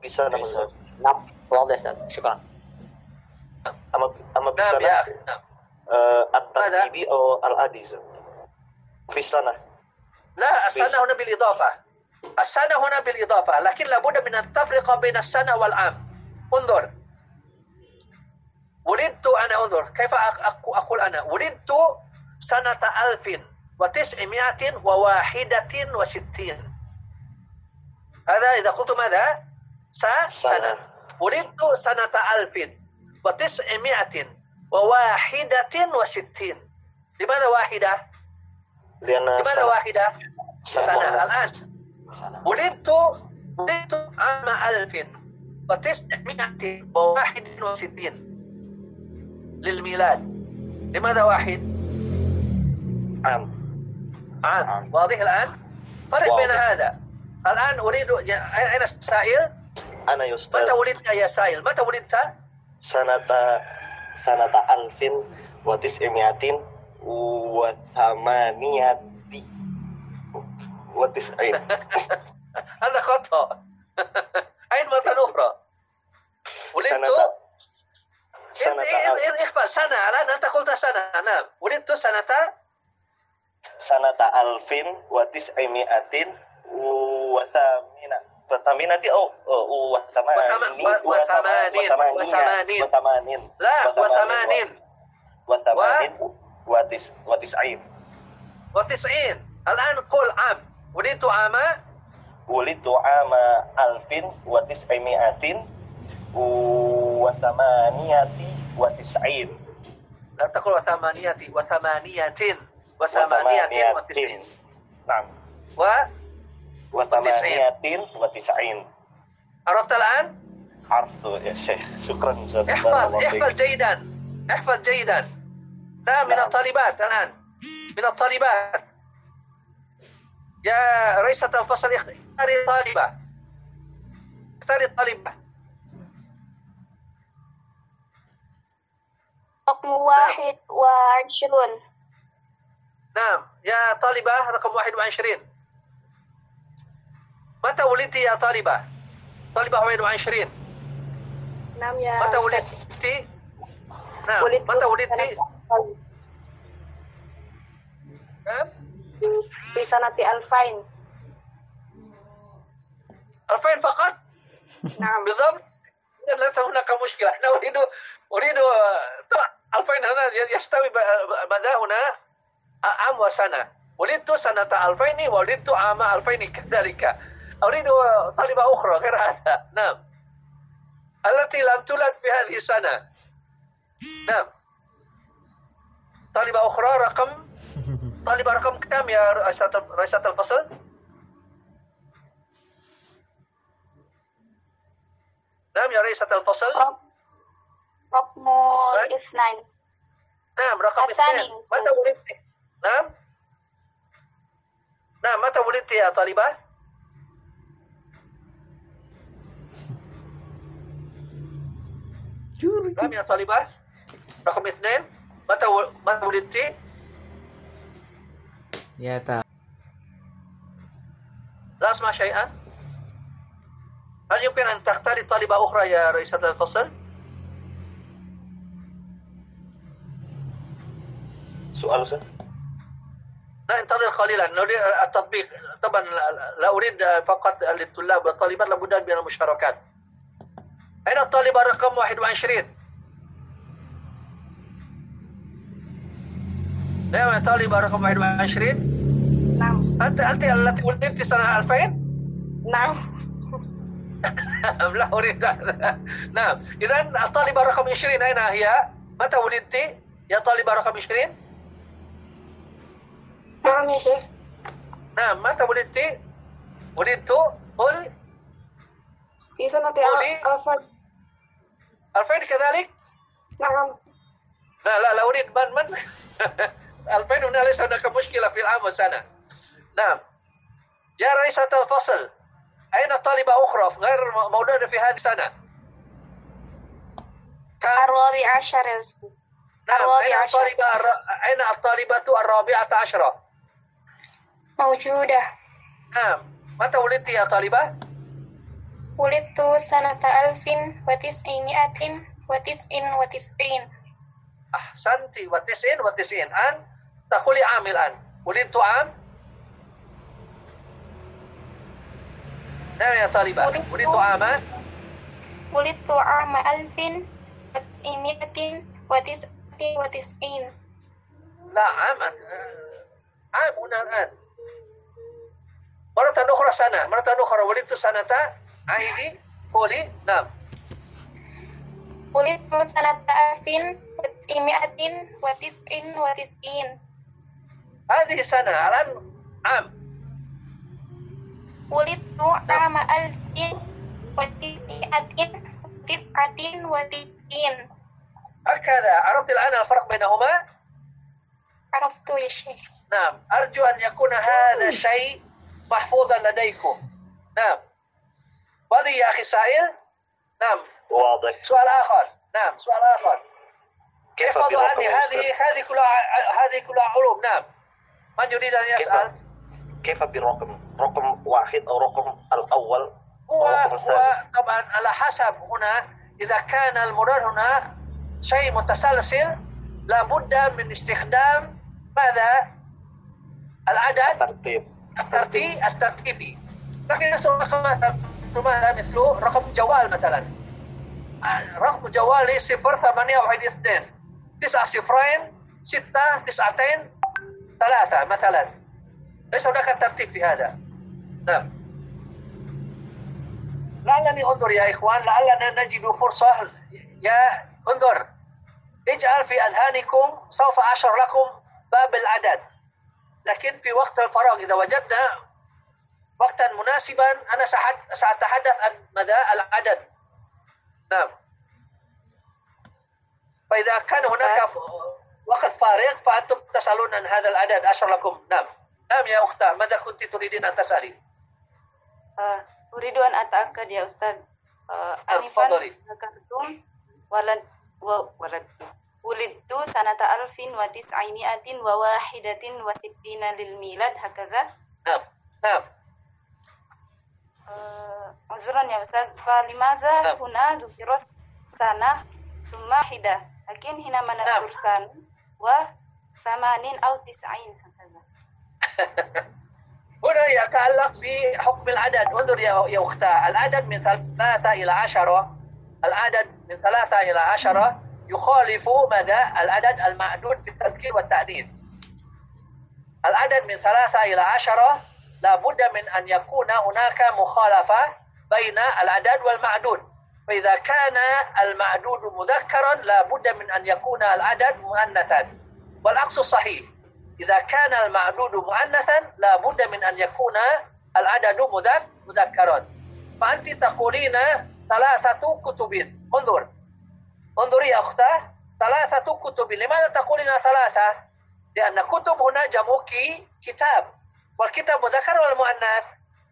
في سنة مثلا. نعم واضح أستاذ، شكرا. أما نعم يا أخي. نعم. الترتيبي أو العادي في السنة. لا، السنة هنا بالإضافة. السنة هنا بالإضافة، لكن لابد من التفرقة بين السنة والعام. انظر، ولدت أنا، انظر كيف أقول أنا ولدت سنة 1961. هذا إذا قلت ماذا؟ سنة. ولدت سنة 1961. لماذا واحدة؟ لماذا واحدة؟ سنة. الآن ولدت عام 1961 للميلاد. لماذا واحد؟ عام. واضح الآن؟ فرق بين هذا. الآن أريد، أين السائل؟ أنا يا أستاذ. متى ولدت يا سائل؟ متى ولدت؟ سنة 1998. هذا خطأ. أين مرة أخرى؟ ولدت احفظ سنة. الآن أنت قلت سنة. نعم، ولدت سنة 1988 و90. الآن قل عام. ولدت عام 1998. لا تقل وثمانية. نعم. و98. عرفت الآن؟ عرفت يا شيخ، شكرا جزاك احفظ جيدا. نعم، من الطالبات الآن، من الطالبات. يا رئيسة الفصل اختاري الطالبة. رقم 21. نعم يا طالبة رقم 21. متى ولدت يا طالبة 21؟ نعم يا متى ولدت؟ نعم متى ولدت؟ في سنة 2000. 2000 فقط؟ نعم بالضبط. ليس هناك مشكلة. أنا أريد طبعا 2000 هنا يستوي ماذا هنا عام وسنة. ولدت سنة 2000 وولدت عام 2000 كذلك. أريد طالبة أخرى غير هذا. نعم، التي لم تولد في هذه السنة. نعم، طالبة أخرى طالبة رقم كم يا رئيسة الفصل؟ نعم يا رئيسة الفصل. رقم 2. نعم رقم 2. متى ولدت؟ نعم متى ولدت يا طالبة؟ نعم يا طالبة رقم 2. متى ولدت؟ يا تا لا أسمع شيئا. هل يمكن أن تختاري طالبة أخرى يا رئيسة الفصل؟ سؤال أستاذ؟ لا، انتظر قليلا، نريد التطبيق. طبعا لا أريد فقط للطلاب والطالبات، لابد من المشاركات. أين الطالبة رقم 21؟ نعم طالبة رقم 21. نعم. أنت التي ولدت سنة 2000؟ نعم. لا أريد. نعم، إذن الطالبة رقم 20 أين هي؟ متى ولدت يا طالبة رقم 20؟ نعم يا شيخ. نعم، متى ولدت؟ قولي. في سنة 2000. 2000 كذلك؟ نعم. لا أريد من 2000 هنا ليس هناك مشكلة في العام والسنة. نعم يا رئيسة الفصل، أين طالبة أخرى غير مولودة في هذه السنة؟ 14 يا أستاذ. نعم، أين الطالبة 14؟ موجودة. نعم، متى ولدت يا طالبة؟ ولدت سنة 1999. أحسنتي. وتسعين. أن تقولي عام الآن. ولدت عام. نعم يا طالبة. ولدت عام. ولدت عام 1999. لا، عام هنا الآن. مرة أخرى سنة. ولدت سنة. عيدي. قولي. نعم. ولدت سنة 1999. هذه سنة. الآن عام. ولدت عام 1999. هكذا. عرفت الآن الفرق بينهما؟ عرفت يا شيخ. نعم. أرجو أن يكون هذا الشيء محفوظا لديكم. نعم. واضح يا أخي سائل؟ نعم. واضح. سؤال آخر. نعم. سؤال آخر. كيف احفظوا برقم عني. أستاذ؟ هذه كلها علوم. نعم. من يريد أن يسأل؟ كيف برقم؟ رقم واحد أو رقم الأول؟ هو الرقم الثاني؟ طبعا على حسب. هنا إذا كان المراد هنا شيء متسلسل لابد من استخدام ماذا؟ العدد الترتيبي. لكن ماذا مثل رقم جوال مثلا. رقم جوالي 0812 9 صفرين 6 9 3 مثلا. ليس هناك ترتيب في هذا. نعم. لعلني انظر يا إخوان، لعلنا نجد فرصة. يا انظر، اجعل في أذهانكم، سوف أشرح لكم باب العدد، لكن في وقت الفراغ إذا وجدنا وقتا مناسبا أنا سأتحدث عن مدى العدد. نعم. فإذا كان هناك وقت فارغ فأنتم تسألون عن هذا العدد أشرح لكم. نعم. نعم يا أختي، ماذا كنت تريدين أن تسألي؟ أريد أن أتأكد يا أستاذ. تفضلي. ذكرتم ولدت سنة 1961 للميلاد هكذا. نعم. نعم. عذرا يا أستاذ، فلماذا نعم. هنا ذكر سنة ثم حدة، لكن هنا نذكر سنة و80 أو 90 هكذا. هنا يتعلق بحكم العدد. انظر يا أختاه، العدد من 3 إلى 10. العدد من 3 إلى 10 يخالف مدى العدد المعدود في التذكير والتأنيث. العدد من 3 إلى 10 لا بد من أن يكون هناك مخالفة بين العدد والمعدود. فإذا كان المعدود مذكرا لا بد من أن يكون العدد مؤنثا، والعكس صحيح. إذا كان المعدود مؤنثا لا بد من أن يكون العدد مذكرا. فأنت تقولين 3 كتب. انظري يا أختاه، 3 كتب. لماذا تقولين 3؟ لأن كتب هنا جمع كتاب، والكتاب مذكر ولا مؤنث؟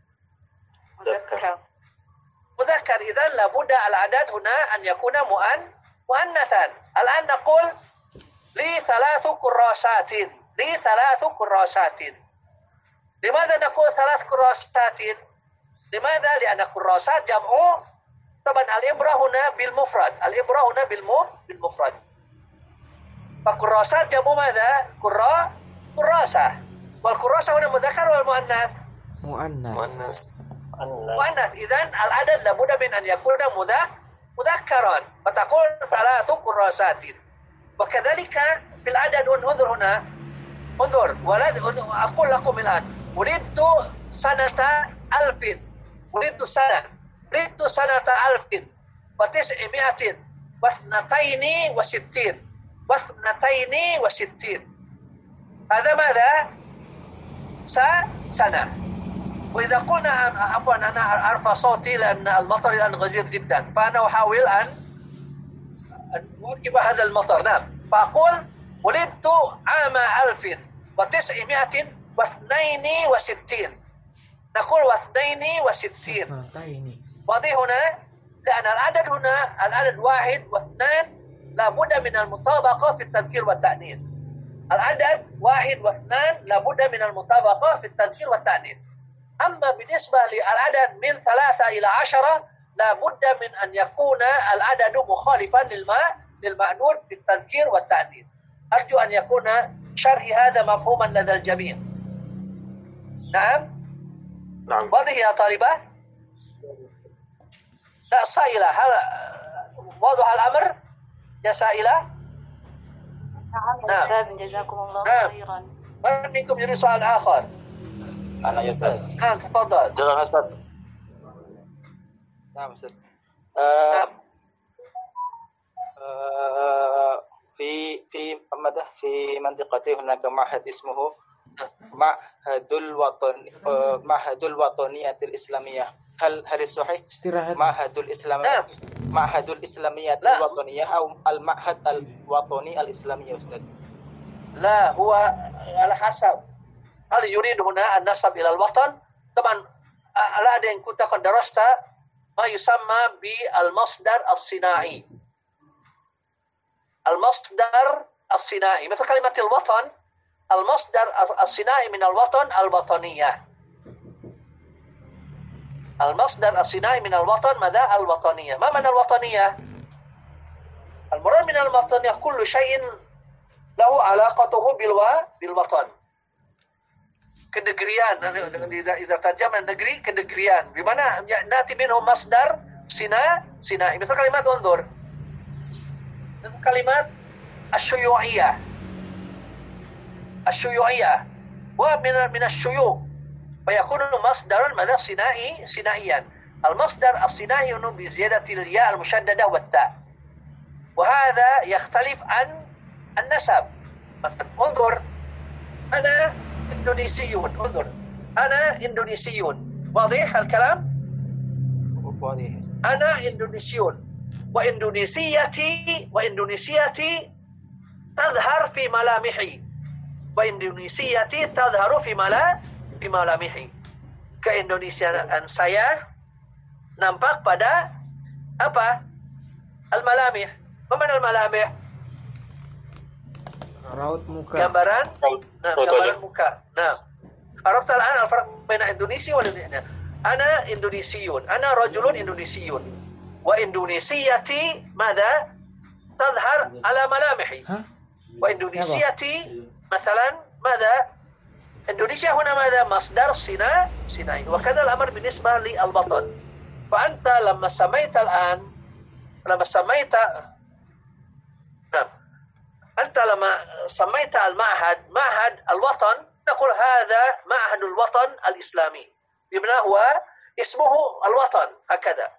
مذكر. إذن لابد العدد هنا أن يكون مؤنثا. الآن نقول لي 3 كراسات. لماذا نقول 3 كراسات؟ لماذا؟ لأن كراسات جمع. طبعا الإبرة هنا بالمفرد. فكراسات جمع ماذا؟ كراسة. والكراسة هنا مذكر ولا مؤنث؟ مؤنث. إذن العدد لابد من أن يكون مذكرا، فتقول 3 كراسات. وكذلك في العدد. انظر هنا، أقول لكم الآن ولدت سنة 1000. ولدت سنة 1962. هذا ماذا؟ سنة. وإذا قلنا عفوا أنا أرفع صوتي لأن المطر الآن غزير جدا، فأنا أحاول أن أواكب هذا المطر. نعم. فأقول ولدت عام 1962. نقول 62. واضح هنا؟ لأن العدد هنا العدد 1 و2 لابد من المطابقة في التذكير والتأنيث. العدد 1 و2 لابد من المطابقة في التذكير والتأنيث. أما بالنسبة للعدد من 3 إلى 10 لا بد من أن يكون العدد مخالفا للمأنون في التذكير والتعديل. أرجو أن يكون شرحي هذا مفهوما لدى الجميع. نعم. نعم. واضح يا طالبة؟ لا سائلة، هل واضح الأمر يا سائلة؟ نعم جزاكم الله خيرا. من منكم يريد سؤال آخر؟ أنا يا أستاذ. نعم تفضل. جزاك أستاذ. نعم أستاذ. نعم. في منطقتي هناك معهد اسمه معهد الوطنية الإسلامية. هل الصحيح معهد الإسلامية معهد الإسلامية الوطنية أو المعهد الوطني الإسلامي أستاذ؟ لا، هو على حسب هل يريد هنا النسب إلى الوطن. طبعا الآن إن كنت قد درست ما يسمى بالمصدر الصناعي. المصدر الصناعي مثل كلمة الوطن، المصدر الصناعي من الوطن الوطنية. المصدر الصناعي من الوطن ماذا؟ الوطنية. ما معنى الوطنية؟ المراد من الوطنية كل شيء له علاقته بالوطن. Kenegerian, إذا ترجمنا النجري kenegerian بمعنى نأتي منه مصدر صناعي. مثل كلمات انظر، مثل كلمات الشيوعية ومن الشيوع، فيكون مصدر ماذا؟ صناعيا. المصدر الصناعي هنا بزيادة الياء المشددة والتاء، وهذا يختلف عن النسب. مثلا انظر، أنا إندونيسيون. انظر، أنا إندونيسيون. واضح الكلام؟ واضح. أنا إندونيسيون، وإندونيسيتي تظهر في ملامحي، وإندونيسيتي تظهر في ملامحي. Keindonesiaan saya nampak pada apa? Al-malamih. Apa mana al-malamih? Raut muka. Gambaran. Nah, gambaran muka. Nah, عرفت الآن الفرق بين إندونيسي والإندونيسي. أنا إندونيسيون، أنا رجل إندونيسيون، وإندونيسيتي ماذا؟ تظهر على ملامحي. وإندونيسيتي مثلا ماذا؟ إندونيسيا هنا ماذا؟ مصدر صناعي. وكذا الأمر بالنسبة للوطن. فأنت لما سميت أنت لما سميت المعهد معهد الوطن، نقول هذا معهد الوطن الإسلامي، بمعنى هو اسمه الوطن هكذا.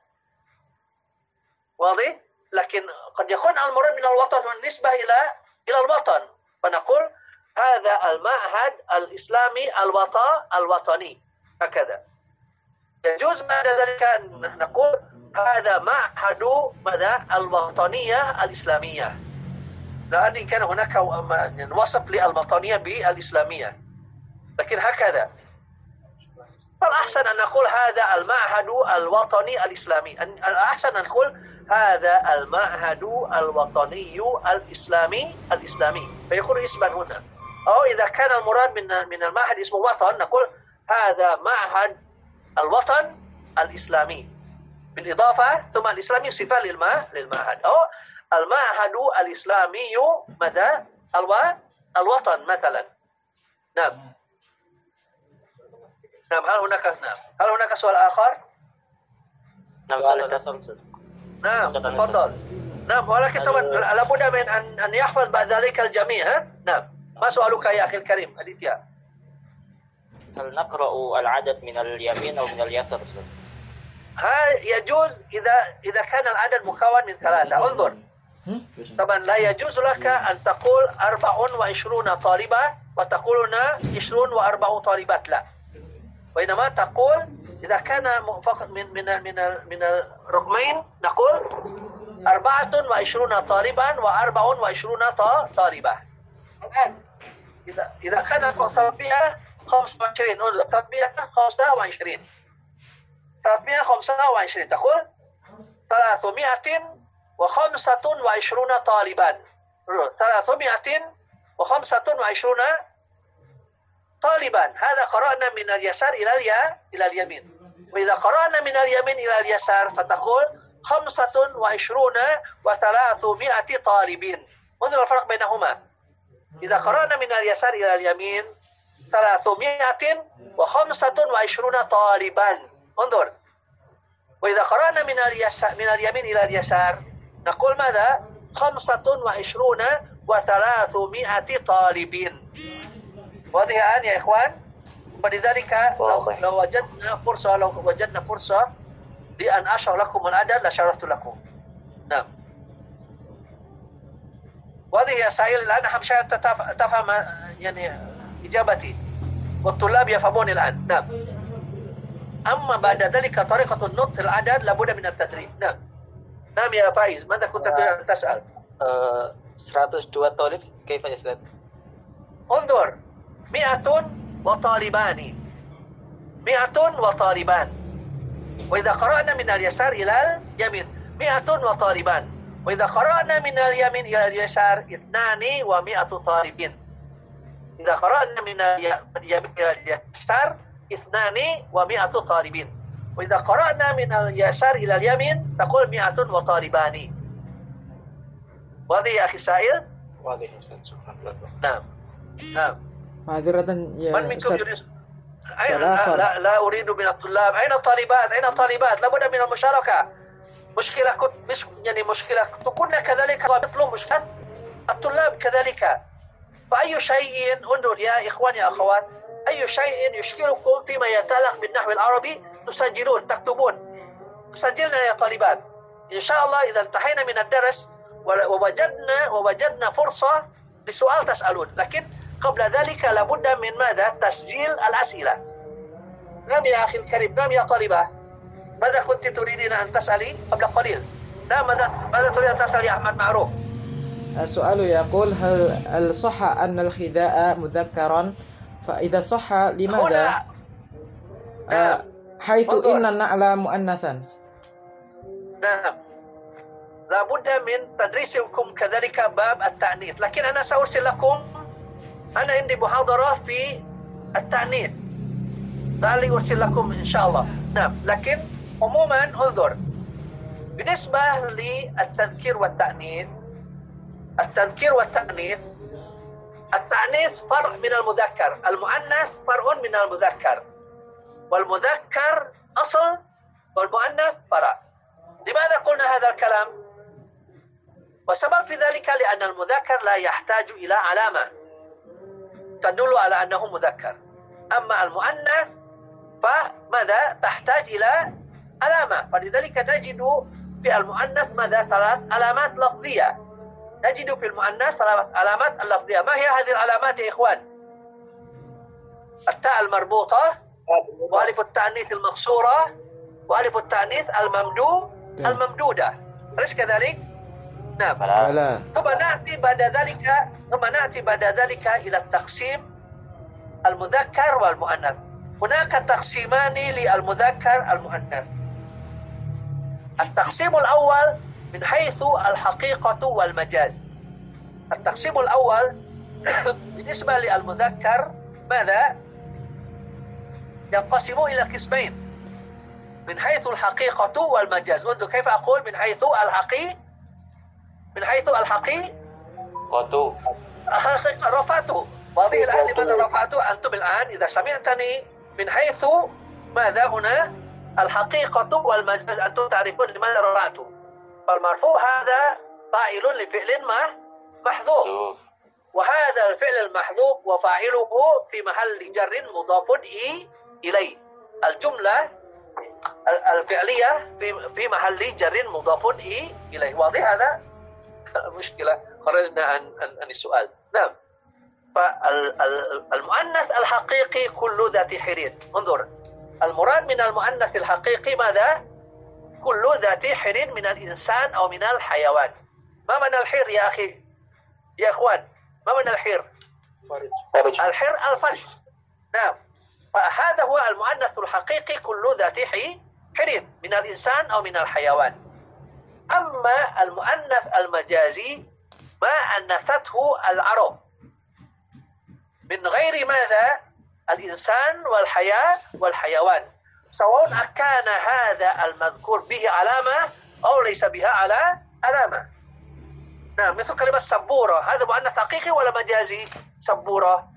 واضح؟ لكن قد يكون المراد من الوطن بالنسبة إلى الوطن، فنقول هذا المعهد الإسلامي الوطني هكذا. يجوز بعد ذلك أن نقول هذا معهد ماذا؟ الوطنية الإسلامية، لأن كان هناك وصف للوطنية بالإسلامية، لكن هكذا. فالأحسن أن نقول هذا المعهد الوطني الإسلامي، الأحسن أن نقول هذا المعهد الوطني الإسلامي فيكون اسما هنا. أو إذا كان المراد من المعهد اسمه وطن، نقول هذا معهد الوطن الإسلامي بالإضافة ثم الإسلامي صفة للمعهد، أو المعهد الإسلامي مدى الوطن مثلا. نعم. هل هناك سؤال آخر؟ نعم تفضل. نعم، ولكن طبعا لابد من أن يحفظ بعد ذلك الجميع. نعم. ما سؤالك يا أخي الكريم أديتيا؟ هل نقرأ العدد من اليمين أو من اليسار؟ يجوز إذا كان العدد مكون من ثلاثة. انظر، طبعا لا يجوز لك أن تقول 24 طالبة وتقول 20 و4 طالبات، لا. وإنما تقول إذا كان فقط من الرقمين نقول 24 طالبا و24 طالبة. الآن إذا كانت التطبيع 25، التطبيع 25 تقول 325 طالبا، 325 طالبا. هذا قرأنا من اليسار إلى اليمين. وإذا قرأنا من اليمين إلى اليسار فتقول 25 و300 طالبين. انظر الفرق بينهما. إذا قرأنا من اليسار إلى اليمين 325 طالبا. انظر. وإذا قرأنا من اليمين إلى اليسار نقول ماذا؟ 25 و300 طالبين. واضح الآن يا إخوان؟ فلذلك لو وجدنا فرصة لأن أشرح لكم العدد لشرحت لكم. نعم. واضح يا سائل الآن؟ أهم شيء أنت تفهم يعني إجابتي والطلاب يفهمون الآن. نعم. أما بعد ذلك طريقة النطق العدد لابد من التدريب. نعم. نعم يا فايز، ماذا كنت تريد أن تسأل؟ 102 طالب كيف يا أستاذ؟ انظر 100 وطالبان 100 وطالبان. وإذا قرأنا من اليسار إلى اليمين 100 وطالبان. وإذا قرأنا من اليمين إلى اليسار 2 و100 طالبين. إذا قرأنا من اليمين إلى اليسار 2 و100 طالبين. وإذا قرأنا من اليسار إلى اليمين تقول 100 وطالبان. واضح يا أخي سائل؟ واضح يا أستاذ، شكرا لك. نعم. نعم. معذرة يا من منكم أستاذ. يريد؟ لا أريد من الطلاب. أين الطالبات؟ أين الطالبات؟ لابد من المشاركة. مشكلة مشكلة كنا كذلك نطلب مشكلة الطلاب كذلك. فأي شيء انظر يا إخوان يا أخوات، أي شيء يشكلكم فيما يتعلق بالنحو العربي تسجلون تكتبون. سجلنا يا طالبات. إن شاء الله إذا انتهينا من الدرس ووجدنا فرصة لسؤال تسألون، لكن قبل ذلك لابد من ماذا؟ تسجيل الأسئلة. نعم يا أخي الكريم. نعم يا طالبة، ماذا كنت تريدين أن تسألي قبل قليل؟ نعم ماذا تريد أن تسألي يا أحمد معروف؟ السؤال يقول هل صح أن الخذاء مذكرا؟ فإذا صح لماذا؟ نعم. حيث إن النعل مؤنثا. نعم. لابد من تدريسكم كذلك باب التعنيف، لكن أنا سأرسل لكم، أنا عندي محاضرة في التعنيف لعلي أرسل لكم إن شاء الله. نعم. لكن عموما انظر بالنسبة للتذكير والتأنيث، التأنيث فرع من المذكر، المؤنث فرع من المذكر، والمذكر أصل والمؤنث فرع. لماذا قلنا هذا الكلام؟ وسبب في ذلك لأن المذكر لا يحتاج إلى علامة تدل على أنه مذكر، أما المؤنث فماذا؟ تحتاج إلى علامة. فلذلك نجد في المؤنث ماذا؟ 3 علامات لفظية. نجد في المؤنث 3 علامات اللفظية. ما هي هذه العلامات يا إخوان؟ التاء المربوطة، وألف التأنيث المقصورة، وألف التأنيث الممدودة. أليس كذلك؟ نعم. ثم نأتي بعد ذلك إلى التقسيم المذكر والمؤنث. هناك تقسيمان للمذكر المؤنث. التقسيم الأول من حيث الحقيقة والمجاز. التقسيم الأول بالنسبة للمذكر ماذا؟ ينقسم إلى قسمين من حيث الحقيقة والمجاز. انظر كيف أقول من حيث رفعته. واضح الآن لماذا رفعته؟ أنتم الآن إذا سمعتني من حيث ماذا هنا الحقيقة والمجاز أنتم تعرفون لماذا رفعته. فالمرفوع هذا فاعل لفعل محذوف، وهذا الفعل المحذوف وفاعله في محل جر مضاف إليه. الجملة الفعلية في محل جر مضاف إليه. واضح هذا؟ مشكلة خرجنا عن السؤال. نعم. فالمؤنث الحقيقي كل ذات حرير. انظر المراد من المؤنث الحقيقي ماذا؟ كل ذات حرير من الإنسان أو من الحيوان. ما معنى الحر يا أخي يا إخوان؟ ما معنى الحر؟ الحر الفرج. نعم. فهذا هو المؤنث الحقيقي كل ذات حرير من الإنسان أو من الحيوان. أما المؤنث المجازي ما أنثته العرب من غير ماذا؟ الإنسان والحياة والحيوان. سواء أكان هذا المذكور به علامة أو ليس بها علامة. نعم، مثل كلمة سبورة، هذا مؤنث حقيقي ولا مجازي؟ سبورة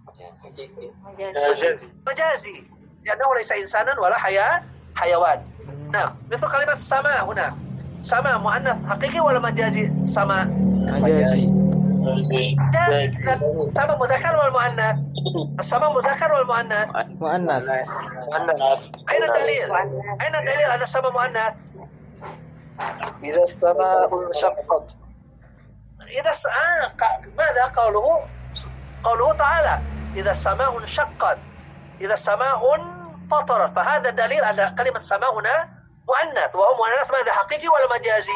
مجازي لأنه ليس إنسانا ولا حيوان. نعم، مثل كلمة سماء هنا، سماء مؤنث حقيقي ولا مجازي؟ سماء مجازي. سماء مذكر ولا مؤنث؟ السماء مذكر ولا مؤنث؟ مؤنث. أين الدليل؟ أين الدليل أن السماء مؤنث؟ إذا السماء انشقت. ماذا قوله تعالى إذا السماء انشقت، إذا السماء فطرت، فهذا دليل أن كلمة سماء هنا مؤنث، وهو مؤنث ماذا، حقيقي ولا مجازي؟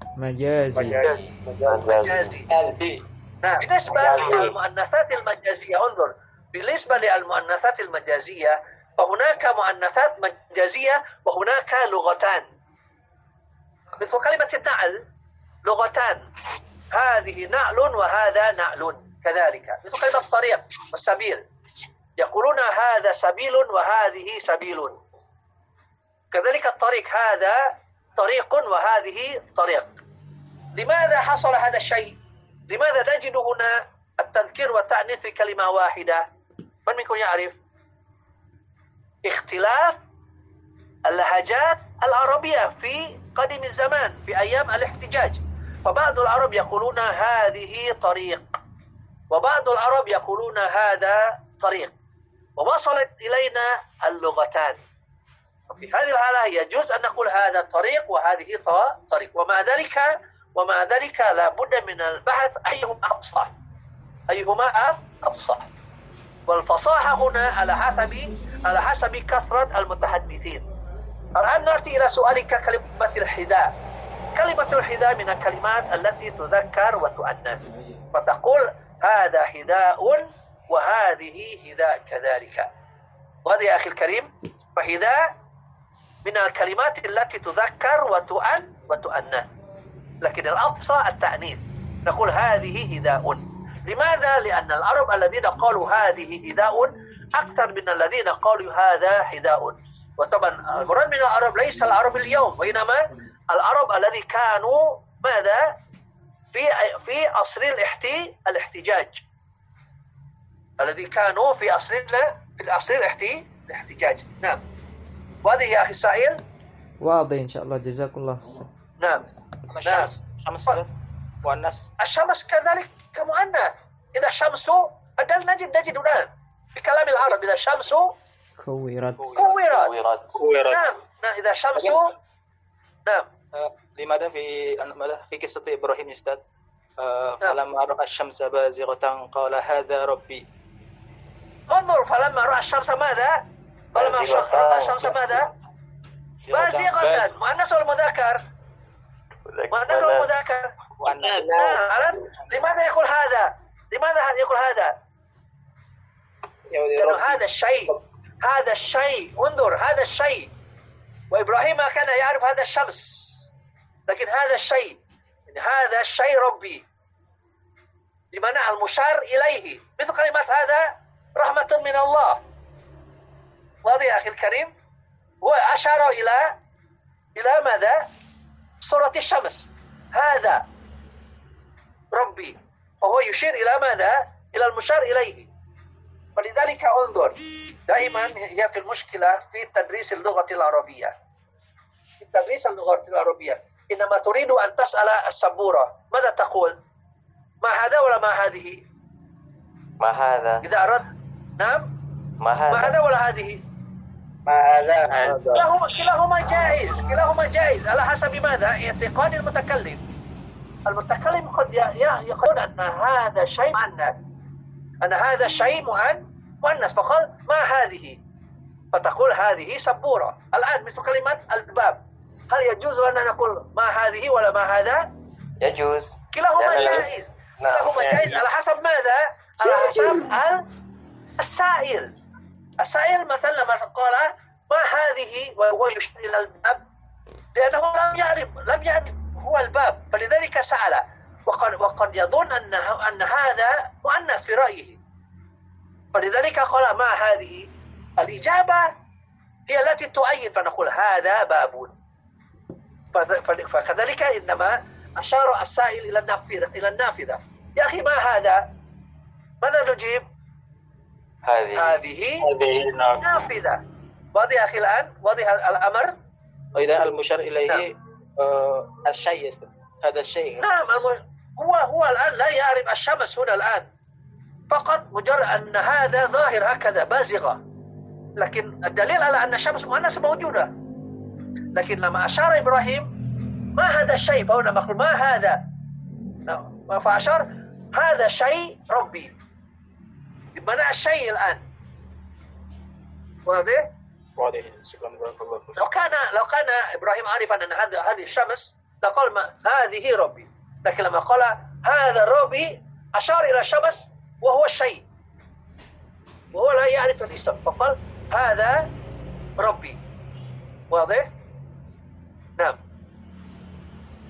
مجازي. نعم، بالنسبة للمؤنثات المجازية، انظر، بالنسبة للمؤنثات المجازية فهناك مؤنثات مجازية وهناك لغتان، مثل كلمة النعل لغتان، هذه نعل وهذا نعل، كذلك مثل كلمة الطريق والسبيل، يقولون هذا سبيل وهذه سبيل، كذلك الطريق، هذا طريق وهذه طريق. لماذا حصل هذا الشيء؟ لماذا نجد هنا التذكير والتأنيث في كلمة واحدة؟ من منكم يعرف؟ اختلاف اللهجات العربية في قديم الزمان في أيام الاحتجاج، فبعض العرب يقولون هذه طريق، وبعض العرب يقولون هذا طريق، ووصلت إلينا اللغتان. وفي هذه الحالة يجوز أن نقول هذا طريق وهذه طريق، ومع ذلك لا بد من البحث أيهما أفصح، والفصاحة هنا على حسب كثرة المتحدثين. الآن نأتي إلى سؤالك كلمة الحذاء. كلمة الحذاء من الكلمات التي تذكر وتؤنث، فتقول هذا حذاء وهذه حذاء كذلك. وهذا يا أخي الكريم، فحذاء من الكلمات التي تذكر وتؤنث، لكن الأفصح التأنيث، نقول هذه حذاء. لماذا؟ لأن العرب الذين قالوا هذه حذاء أكثر من الذين قالوا هذا حذاء. وطبعا المراد من العرب ليس العرب اليوم، وإنما العرب الذي كانوا ماذا في عصر الاحتجاج، الذي كانوا في عصر الاحتجاج. نعم، واضح يا أخي السائل؟ واضح إن شاء الله، جزاكم الله. نعم. الشمس مؤنث. الشمس كذلك كمؤنث. إذا الشمس نجد الآن في كلام العرب إذا الشمس كورت. نعم، إذا الشمس نعم. لماذا في قصة إبراهيم يا أستاذ فلما رأى الشمس بازغة قال هذا ربي. انظر، فلما رأى الشمس ماذا؟ فلما رأى الشمس ماذا؟ بازغة. مؤنث ولا مذكر؟ مؤنث ولا مذكر؟ لماذا يقول هذا؟ لأنه هذا الشيء انظر، هذا الشيء، وإبراهيم ما كان يعرف هذا الشمس، لكن هذا الشيء ربي، لمنع المشار إليه، مثل كلمة هذا رحمة من الله. واضح يا أخي الكريم؟ هو أشار إلى ماذا؟ صورة الشمس، هذا ربي، وهو يشير إلى ماذا؟ إلى المشار إليه. فلذلك انظر، دائما هي في المشكلة في تدريس اللغة العربية. في تدريس اللغة العربية إنما تريد أن تسأل السبورة ماذا تقول؟ ما هذا ولا ما هذه؟ ما هذا. إذا أردت نعم، ما هذا ولا هذه؟ ما هذا. كلاهما جائز على حسب ماذا؟ اعتقاد المتكلم. المتكلم قد يقول أن هذا شيء مؤنث، أن هذا شيء مؤنث، فقال ما هذه، فتقول هذه سبورة. الآن مثل كلمة الباب، هل يجوز أن نقول ما هذه ولا ما هذا؟ يجوز. كلاهما جائز. كلاهما جائز على حسب ماذا؟ على حسب السائل مثلا لما قال ما هذه وهو يشير إلى الباب، لأنه لم يعرف هو الباب، فلذلك سأل، وقد يظن أن هذا مؤنث في رأيه، فلذلك قال ما هذه. الإجابة هي التي تؤيد فنقول هذا باب. فكذلك إنما أشار السائل إلى النافذة. يا أخي ما هذا؟ ماذا نجيب؟ هذه نافذة. واضح يا أخي الآن؟ واضح الأمر؟ وإذا المشار إليه الشيء يا أستاذ. هذا الشيء. نعم هو الآن لا يعرف الشمس هنا الآن، فقط مجرد أن هذا ظاهر هكذا بازغة، لكن الدليل على أن الشمس مؤنثة موجودة. لكن لما أشار إبراهيم ما هذا الشيء، فهنا مقول ما هذا، فأشار هذا شيء ربي، بمعنى الشيء الآن. واضح؟ واضح. شكرا بارك الله فيك. لو كان إبراهيم عارفا أن هذه الشمس لقال ما هذه ربي، لكن لما قال هذا ربي أشار إلى الشمس وهو الشيء، وهو لا يعرف الاسم، فقال هذا ربي. واضح؟